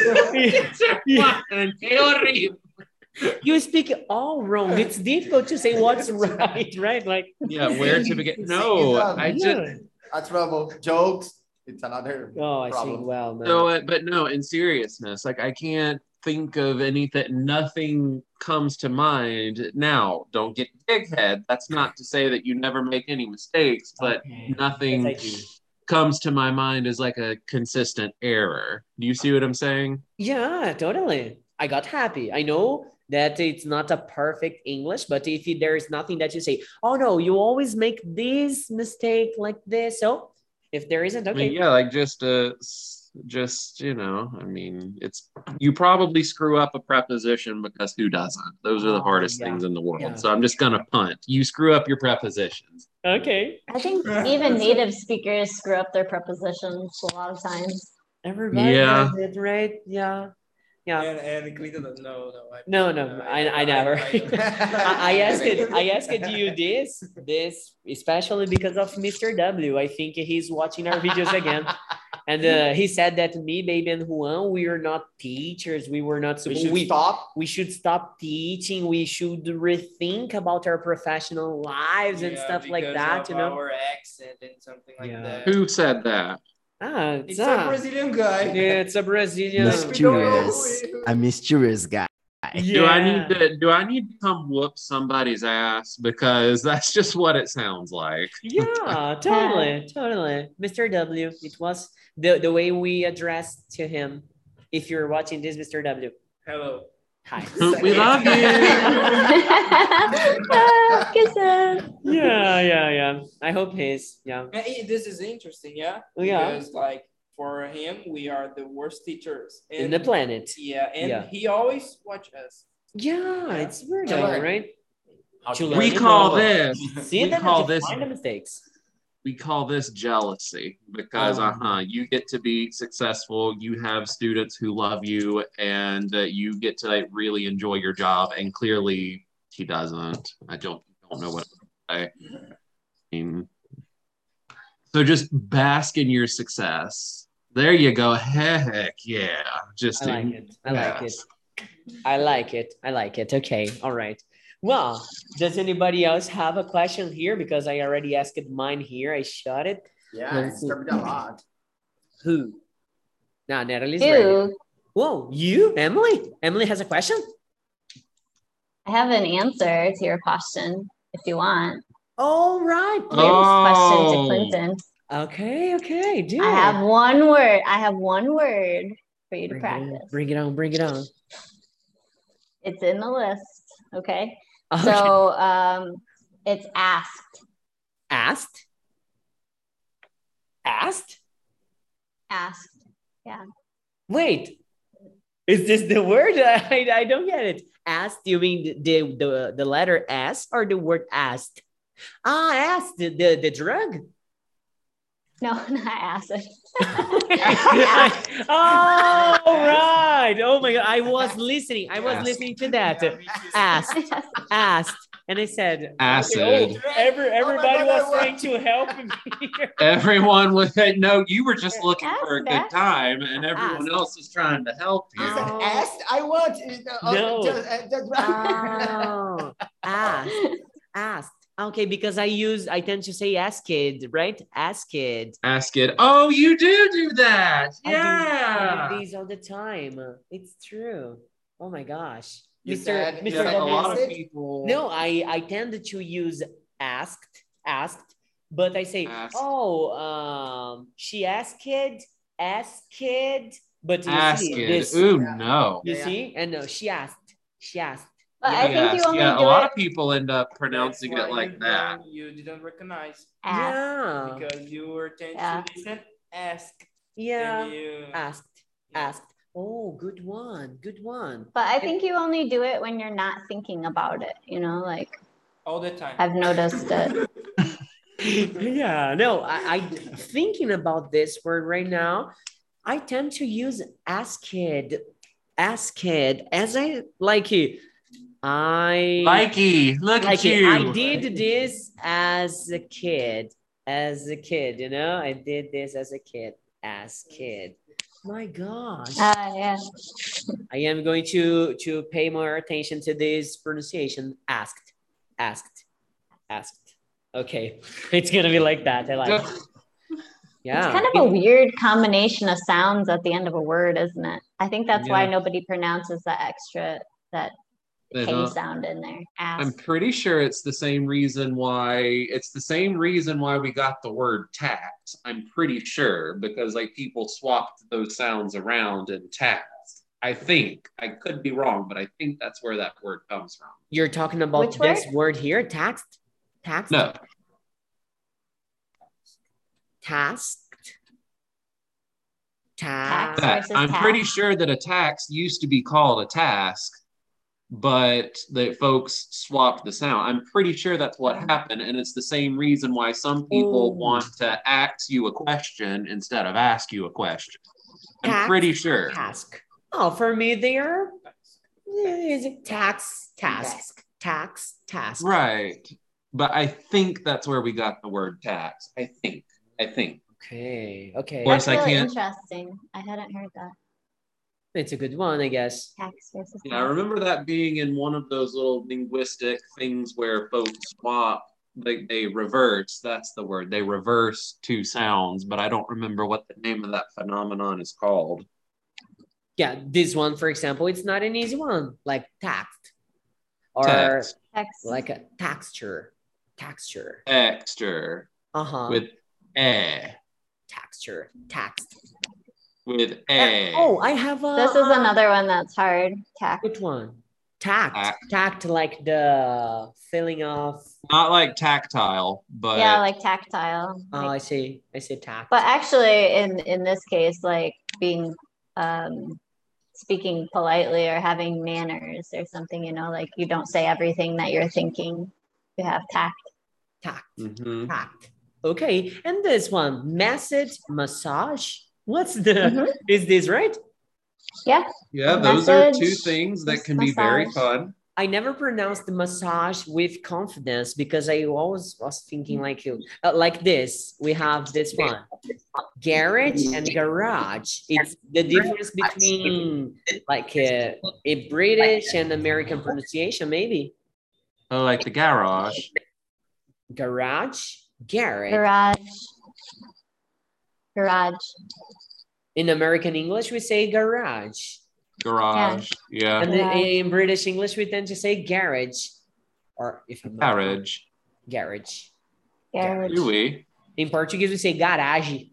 Yeah. Qué horrible. You speak all wrong. It's difficult to say what's right, right? Like Yeah, where to begin? No, I just yeah. A trouble. Jokes. It's another Oh, I see. problem. Well, no. no, uh, but no, in seriousness, like I can't think of anything. Nothing comes to mind now. Don't get big head. That's not to say that you never make any mistakes, but Okay. nothing Yes, I do. comes to my mind as like a consistent error. Do you see what I'm saying? Yeah, totally. I got happy. I know that it's not a perfect English, but if there is nothing that you say, oh no, you always make this mistake like this. So if there isn't, I okay. mean, yeah, like just uh s- just you know, I mean, it's you probably screw up a preposition because who doesn't? Those are the Oh, hardest yeah. things in the world. Yeah. So I'm just gonna punt. You screw up your prepositions. Okay. I think even native speakers screw up their prepositions a lot of times. Everybody Yeah. does it, right? Yeah. Yeah. And, and Clinton, no, no. I, No, no, I, I never. I, I asked it. I asked you this, this especially because of Mister W. I think he's watching our videos again, and uh, he said that me, baby, and Juan, we are not teachers. We were not. We supposed. should we, stop. we should stop teaching. We should rethink about our professional lives and Yeah, stuff like because that. of You know. our accent and something like Yeah. that. Who said that? Ah, It's ah. a Brazilian guy. It's a Brazilian. Mysterious. A mysterious guy. Do I need Yeah. to do I need to come whoop somebody's ass? Because that's just what it sounds like. Yeah, totally, totally. Mister W, it was the, the way we addressed to him. If you're watching this, Mister W, Hello. hi. We love you. Ah, kisses. Yeah, yeah, yeah. I hope he's, yeah. And it- this is interesting, yeah. Yeah. Because like for him, we are the worst teachers In the planet. Yeah, and Yeah. he always watch us. Yeah, it's weird, To though, learn. right? How To to learn. We you call know. this See we them call and to this find the mistakes. we call this jealousy because Oh. uh-huh you get to be successful, you have students who love you, and uh, you get to like, really enjoy your job, and clearly he doesn't. I don't don't know what to say. I mean, so just bask in your success. There you go. Heck yeah. Just I like in- it. I like it. yes. I like it. I like it. Okay. All right. Well, does anybody else have a question here? Because I already asked mine here. I shot it. Yeah, Let's it's see. covered a lot. Who? Nah, Natalie's ready. Ew. Whoa, you, Emily? Emily has a question? I have an answer to your question if you want. All right. Here's question to Oh. Clinton. Okay, okay. Do I it. have one word. I have one word for you to bring it, on, practice. bring it on, bring it on. It's in the list. Okay. Okay. So um, it's asked. Asked? Asked? Asked. Wait. Is this the word? I, I don't get it. Asked, you mean the, the, the letter S or the word asked? Ah, asked, the, the, the drug? No, not acid. Oh, right. Oh my God. I was listening. I was Asked. listening to that. Asked, asked. And I said, Acid. okay, oh, every, everybody God, was what? trying to help me. Everyone was no, you were just looking for a Ask, good ask. time, and everyone Ask. else was trying to help you. You said Oh. asked. I want. uh, No. Just, uh, just, Oh, asked, asked. Okay, because I use, I tend to say asked, right? Asked. Ask it. Oh, you do do that. I do, I Yeah. do these all the time. It's true. Oh my gosh. You Mister said- Mister Yeah, a lot of Acid? people. No, I, I tend to use asked, asked, but I say, Asked. oh, um, she asked, asked, but you Ask see, it. this, Ooh, no. you Yeah, yeah. see, and no, she asked, she asked. But Yeah. I think you Yes, only yeah, a do lot it of people end up That's pronouncing why it like you that. don't- You didn't recognize ask. Yeah, because you were tend Yeah. to listen, ask, yeah, and you asked, asked. Oh, good one, good one. But I think you only do it when you're not thinking about it, you know, like all the time. I've noticed it. Yeah, no, I, I thinking about this word right now. I tend to use asked, asked as I like it. I Likey, look like at it. you. I did this as a kid, as a kid, you know, I did this as a kid, as kid. My gosh, Uh, yeah. I am going to to pay more attention to this pronunciation. Asked, asked, asked. Okay, it's gonna be like that. I like. It. Yeah, It's kind of a weird combination of sounds at the end of a word, isn't it? I think that's why Yeah. nobody pronounces that extra, that They K don't. sound in there. Ask. I'm pretty sure it's the same reason why it's the same reason why we got the word tax. I'm pretty sure because like people swapped those sounds around in tax. I think I could be wrong, but I think that's where that word comes from. You're talking about Which this word? word here, taxed, taxed, No, tasked, Tax task. that versus I'm tax. pretty sure that a tax used to be called a task, but that folks swapped the sound. I'm pretty sure that's what happened, and it's the same reason why some people Oh. want to ask you a question instead of ask you a question. I'm Tax, pretty sure. Task. Oh, for me, they are is it tax, task, tax, task. Right. But I think that's where we got the word tax. I think. I think. Okay, okay. Or- course, That's I really can't- interesting. I hadn't heard that. It's a good one, I guess. Tax versus Yeah, I tax. remember that being in one of those little linguistic things where folks swap, like they reverse. That's the word. They reverse two sounds, but I don't remember what the name of that phenomenon is called. Yeah, this one, for example, it's not an easy one, like taxed or Text. Tax. like a texture, texture. Extra. Uh-huh. With eh. Texture, taxed. With eh. Oh, I have a. This is another one that's hard. Tax. Which one? Tact. Tact. Tact, like the feeling of. Not like tactile, but Yeah, like tactile. Oh, like- I see. I see tact. But actually, in in this case, like being um, speaking politely or having manners or something, you know, like you don't say everything that you're thinking. You have tact. tact. Mhm. Tact. Okay, and this one, message, massage. What's the? Mhm. Is this right? Yeah. Yeah, those are two Message, things that can be very massage. fun. I never pronounced the massage with confidence because I always was thinking like you, uh, like this. We have this one, garage and garage. It's the difference between like uh, a British and American pronunciation, maybe. Oh, like the garage. Garage, garage. Garage. Garage. In American English, we say garage, Garage. Yeah. and Garage. in British English, we tend to say garage, or if I'm not wrong, Garage. garage. Garage. Do we? Em português, we say garage.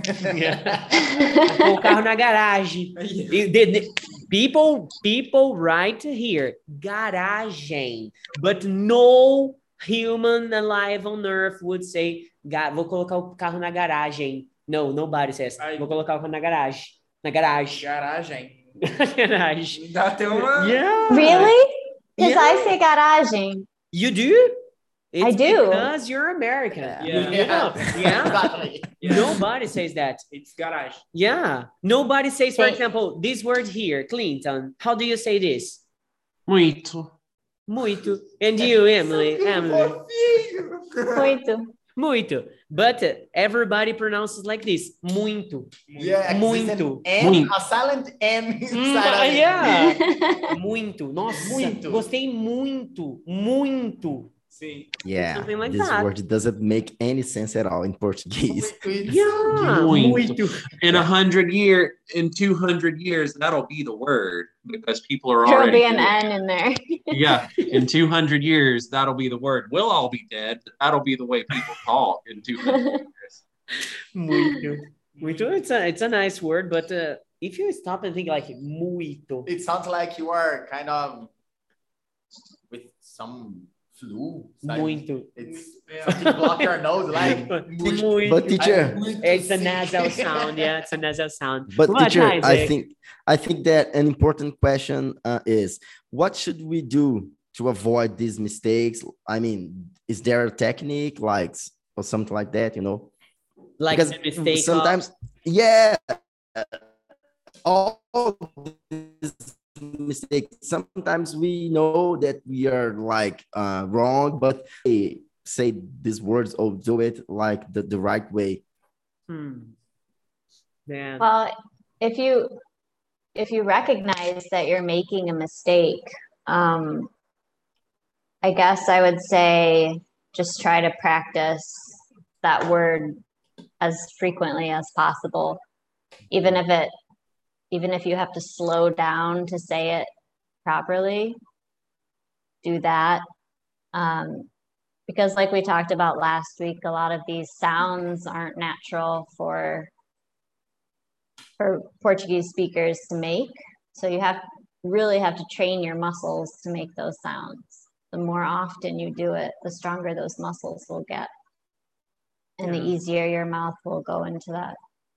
Pôr o carro na garagem. E the- the- People, people write here, garagem, but no human alive on earth would say, "Ga- vou colocar o carro na garagem." No, nobody says, Aí- vou colocar o carro na garagem. Na garagem. Garagem. garagem. Dá até uma. Yeah. Really? Because Yeah. I say garagem. You do? It's I do. because you're American. Yeah. Yeah. Yeah. Exactly. Yeah. Nobody says that. It's garage. Yeah. Nobody says, for Okay. example, this word here, Clinton. How do you say this? Muito. Muito. And you, Emily? Emily? Muito. Muito. But uh, everybody pronounces like this. Muito. Yeah, Muito. M, Muito. a silent M Hum, inside of it. yeah. Muito. Nossa, Muito. gostei muito. Muito. Sim. Yeah, Something like this that. word doesn't make any sense at all in Portuguese. Yeah. Muito. Muito. In a hundred year, in two hundred years, that'll be the word because people are There'll already. be an N in there. Yeah, in two hundred years, that'll be the word. We'll all be dead, but that'll be the way people talk in two hundred years. Muito. Muito. It's a, it's a nice word, but uh, if you stop and think like muito. It sounds like you are kind of with some flu. It's like Muito. It's something block your nose, like Muito. But teacher, It's a nasal sound. Yeah, it's a nasal sound. but What, teacher, I Isaac? think I think that an important question uh, is what should we do to avoid these mistakes? I mean, is there a technique like or something like that? You know, Like because the mistake sometimes, yeah, all these mistakes. Sometimes we know that we are like uh, wrong, but we say these words or do it like the, the right way. of, hmm. Man. Well, if you if you recognize that you're making a mistake, um, I guess I would say just try to practice that word as frequently as possible, even if it even if you have to slow down to say it properly. Do that. Um, because like we talked about last week, a lot of these sounds aren't natural for for Portuguese speakers to make. So you have really have to train your muscles to make those sounds. The more often you do it, the stronger those muscles will get. And the Yeah. easier your mouth will go into that.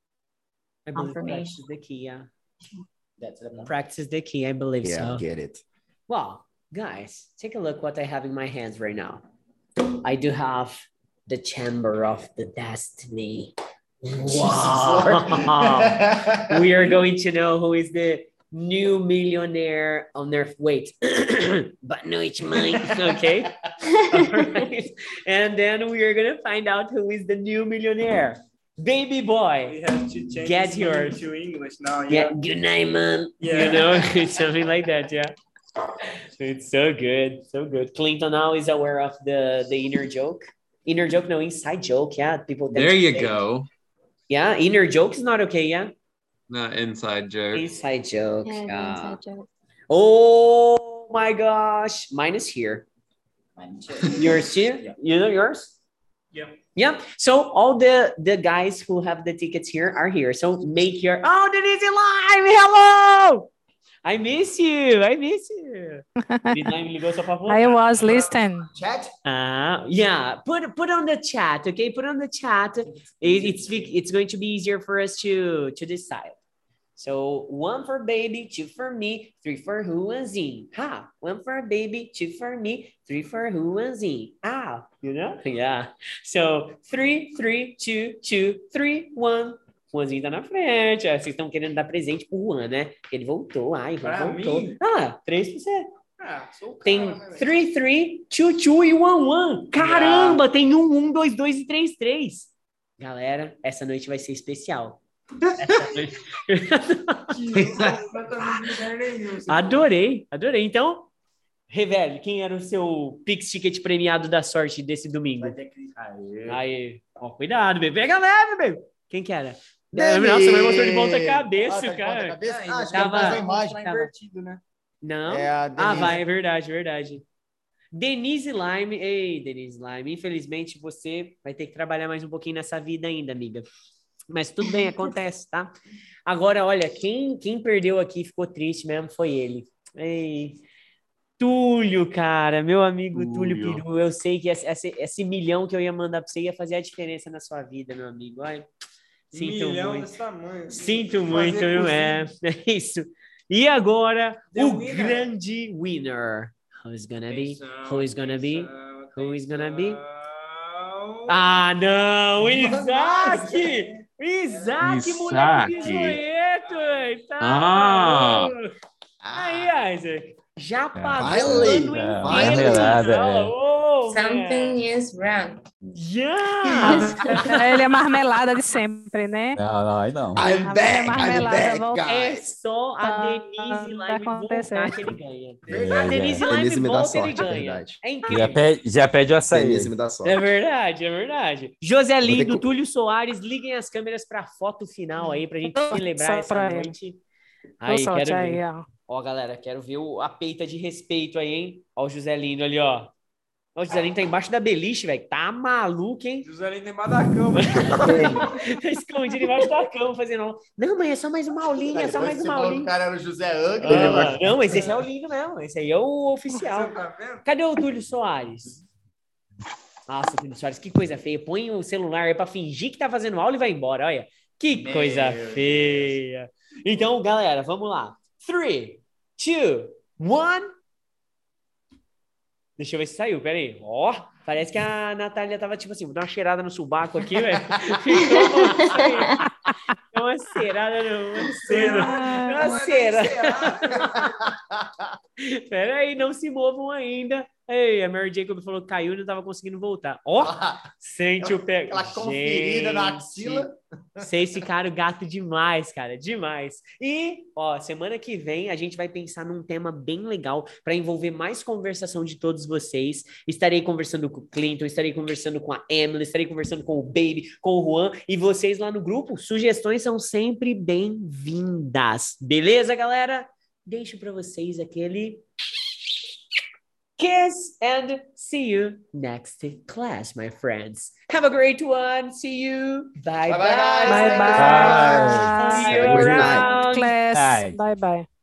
I believe confirmation. practice is the key, yeah. That's the point. Practice is the key, I believe Yeah, so. get it. Well, guys, take a look what I have in my hands right now. I do have the Chamber of the Destiny. Wow. We are going to know who is the new millionaire on Earth. Wait, but no, it's mine. Okay. All right. And then we are going to find out who is the new millionaire. Baby boy. We have to change Get this name yours. to English now. Yeah, Yeah. good night, man. Yeah. You know, it's something like that. Yeah. It's so good. So good. Clinton now is aware of the, the inner joke. Inner joke, no, inside joke. Yeah. People. tend There to you say- go. Yeah. Inner joke is not okay. Yeah. Not inside joke. Inside joke. Yeah, the Yeah. inside joke. Oh my gosh. Mine is here. Mine too. Yours too? Yeah. You know yours? Yeah. Yeah. So all the the guys who have the tickets here are here. So make your oh Denise Lime, hello. I miss you. I miss you. Denise Lime ligou só pra voltar. I was listening. Chat. Ah, yeah. Put put on the chat, okay? Put on the chat. It, it's it's going to be easier for us to to decide. So one for baby, two for me, three for Juanzinho. Ha! One for baby, two for me, three for Juanzinho. Ah, you know? Yeah. So three, three, two, two, three, one. Juanzinho tá na frente. Ah, vocês estão querendo dar presente pro Juan, né? Ele voltou. Ai, Juan Pra voltou. mim? Ah, três pra você. Ah, sou o cara, Tem né, velho? three, three, two, two e one, one. Caramba, tem um, um, dois, dois e três, três. Galera, essa noite vai ser especial. Essa noite... Adorei, adorei. Então, revele, quem era o seu Pix Ticket premiado da sorte desse domingo? Vai ter que. Aê. Aí, ó, cuidado, bebê. Pega leve, bebê. Quem que era? Denis! Nossa, mas mostrou de ponta cabeça, Ah, tá de cara. ponta cabeça? Ah, Ah, acho que tava- ele faz a imagem. Tá tava- invertido, né? Não? É a Ah, Denise. vai, é verdade, verdade. Denise Lime. Ei, Denise Lime, infelizmente você vai ter que trabalhar mais um pouquinho nessa vida ainda, amiga. Mas tudo bem, acontece, tá? Agora, olha, quem, quem perdeu aqui ficou triste mesmo foi ele. Ei, Túlio, cara, meu amigo Túlio, Túlio. Peru. Eu sei que esse, esse, esse milhão que eu ia mandar pra você ia fazer a diferença na sua vida, meu amigo. Olha, sinto Milhão muito. desse tamanho. Sinto Fazer muito, não é? É isso. E agora, The o winner. grande winner. Who's gonna be? Who is gonna be? Who is gonna be? Ah, não! O Isaac! O Isaac, moleque Isaac. bisonhento! Tá Ah. maluco. Aí, Isaac. Já É. pagou Finally, o ano é, inteiro. marmelada, Fala, é. oh, man. Something is wrong. Yeah! Ele é marmelada de sempre, né? Não, não, aí não. I'm A velha back, I'm marmelada back, volta. É guys. só a Quando Denise Lime acontecer. voltar que ele ganha. É, A Denise é. Lime Denise me dá volta, ele sorte, é ganha. verdade. É Já incrível. pede, já pede o açaí. Denise me dá sorte. É verdade, é verdade. José Vou ter Lindo, que- Túlio Soares, liguem as câmeras para a foto final aí, pra gente Boa celebrar sorte essa pra ele. noite. Boa Aí, sorte quero aí, ver. ó. Ó, galera, quero ver o, a peita de respeito aí, hein? Ó o José Lindo ali, ó. Ó, o José Lindo tá embaixo da beliche, velho. Tá maluco, hein? José Lino embaixo da cama. Tá escondido embaixo da cama, fazendo... Não, mãe, é só mais uma aulinha, é só Depois mais você uma falou que o aulinha. cara era o José Angra. Ah, não, mas esse é o lindo mesmo. Esse aí é o oficial. Você tá vendo? Cadê o Túlio Soares? Nossa, Túlio Soares, que coisa feia. Põe o celular aí pra fingir que tá fazendo aula e vai embora. Olha, que Meu coisa Deus. feia. Então, galera, vamos lá. Three, two, one. Deixa eu ver se saiu, peraí. Ó, parece que a Natália tava tipo assim, vou dar uma cheirada no subaco aqui, velho. Ficou uma, uma ceirada, não, uma cera. Ah, Uma cera. Pera aí, não se movam ainda. Ei, a Mary Jacob falou que caiu e não tava conseguindo voltar. Ó, sente o pé. Aquela conferida na axila. Vocês ficaram gato demais, cara, demais. E, ó, semana que vem a gente vai pensar num tema bem legal para envolver mais conversação de todos vocês. Estarei conversando com o Clinton, estarei conversando com a Emily, estarei conversando com o Baby, com o Juan e vocês lá no grupo. Sugestões são sempre bem-vindas. Beleza, galera? Deixo para vocês aquele kiss and see you next class, my friends. Have a great one. See you. Bye Bye-bye, bye. guys. Bye Thank you so bye. much. See you Have a great night. around. Class. Bye. Bye bye.